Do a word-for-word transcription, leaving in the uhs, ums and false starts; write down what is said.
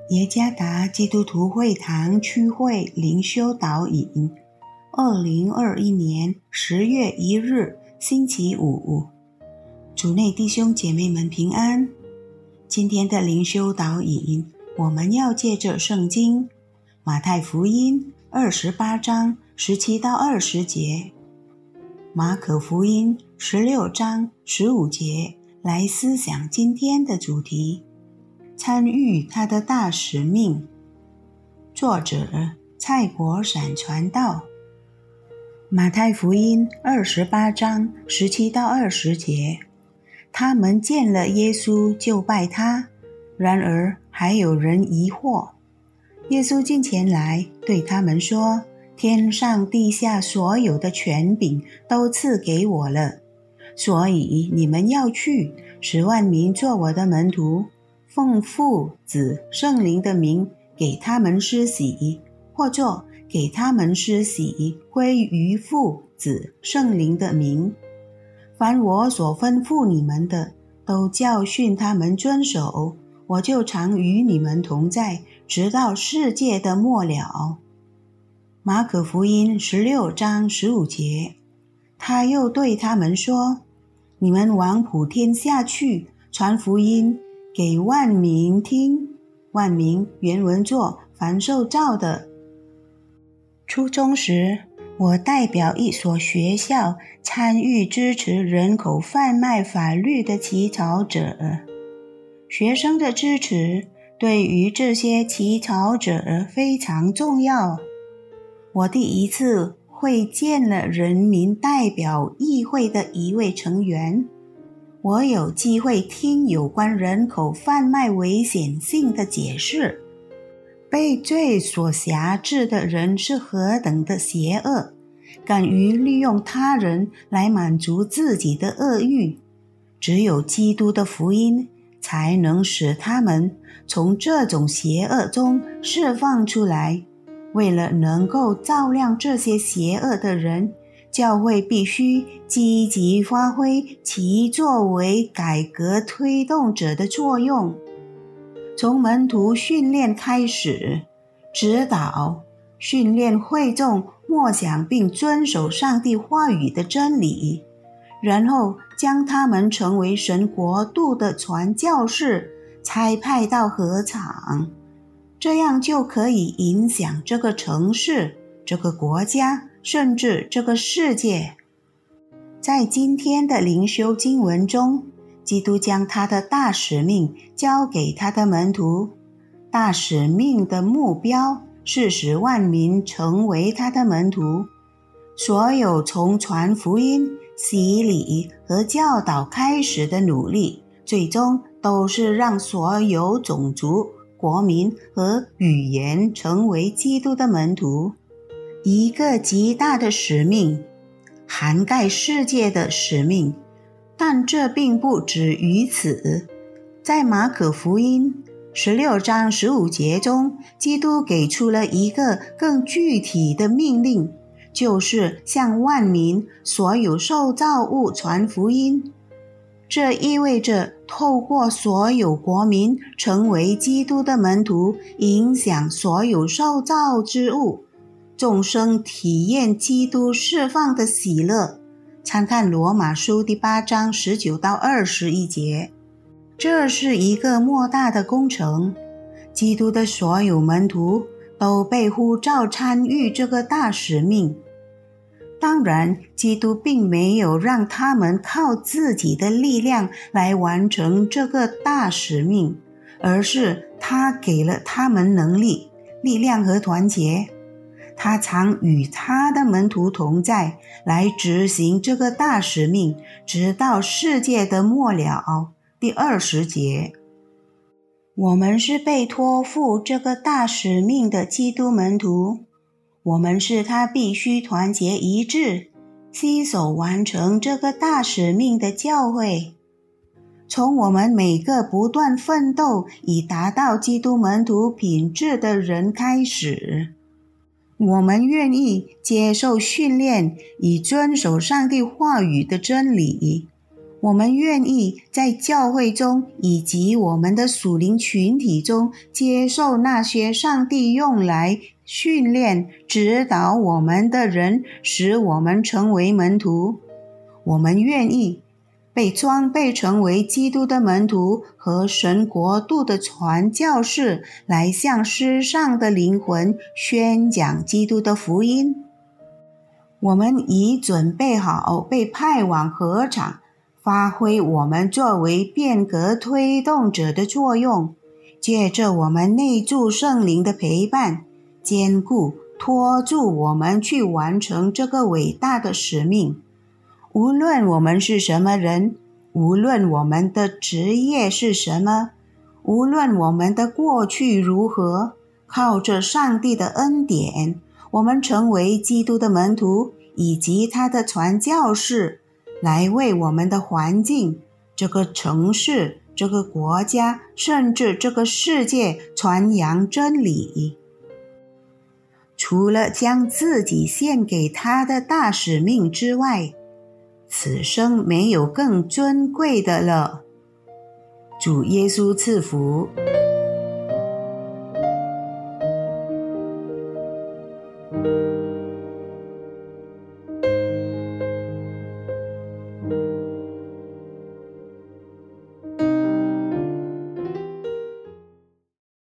耶加达基督徒会堂区会灵修导引，二零二一年十月一日星期五，主内弟兄姐妹们平安。今天的灵修导引，我们要借着圣经马太福音二十八章十七到二十节，马可福音十六章十五节来思想今天的主题，参与他的大使命。作者蔡国闪传道。马太福音二十八章十七到二十节，他们见了耶稣就拜他，然而还有人疑惑。耶稣近前来对他们说，天上地下所有的权柄都赐给我了，所以你们要去，使万民做我的门徒，奉父子圣灵的名给他们施洗，或作给他们施洗归于父子圣灵的名。凡我所吩咐你们的，都教训他们遵守，我就常与你们同在，直到世界的末了。马可福音十六章十五节，他又对他们说，你们往普天下去，传福音给万民听。万民原文作凡受造的。初中时，我代表一所学校参与支持人口贩卖法律的起草者。学生的支持对于这些起草者非常重要。我第一次会见了人民代表议会的一位成员，我有机会听有关人口贩卖危险性的解释。被罪所辖制的人是何等的邪恶，敢于利用他人来满足自己的恶欲。只有基督的福音才能使他们从这种邪恶中释放出来。为了能够照亮这些邪恶的人，教会必须积极发挥其作为改革推动者的作用。从门徒训练开始，指导、训练会众默想并遵守上帝话语的真理，然后将他们成为神国度的传教士，差派到禾场，这样就可以影响这个城市、这个国家，甚至这个世界。在今天的灵修经文中，基督将他的大使命交给他的门徒。大使命的目标是使万民成为他的门徒。所有从传福音、洗礼和教导开始的努力，最终都是让所有种族、国民和语言成为基督的门徒。一个极大的使命，涵盖世界的使命。但这并不止于此。在马可福音十六章十五节中，基督给出了一个更具体的命令，就是向万民所有受造物传福音。这意味着透过所有国民成为基督的门徒，影响所有受造之物，众生体验基督释放的喜乐。参看罗马书第八章十九到二十一节。这是一个莫大的工程，基督的所有门徒都被呼召参与这个大使命。当然，基督并没有让他们靠自己的力量来完成这个大使命，而是他给了他们能力、力量和团结。他常与他的门徒同在，来执行这个大使命，直到世界的末了。第二十节，我们是被托付这个大使命的基督门徒，我们是他必须团结一致、携手完成这个大使命的教会。从我们每个不断奋斗以达到基督门徒品质的人开始，我们愿意接受训练，以遵守上帝话语的真理。 我们愿意在教会中以及我们的属灵群体中接受那些上帝用来训练、指导我们的人，使我们成为门徒。我们愿意被装备成为基督的门徒和神国度的传教士，来向世上的灵魂宣讲基督的福音。我们已准备好被派往禾场，发挥我们作为变革推动者的作用，借着我们内住圣灵的陪伴，坚固拖住我们去完成这个伟大的使命。无论我们是什么人，无论我们的职业是什么，无论我们的过去如何，靠着上帝的恩典，我们成为基督的门徒以及他的传教士，来为我们的环境、这个城市、这个国家，甚至这个世界传扬真理。除了将自己献给他的大使命之外，此生没有更尊贵的了。主耶稣赐福。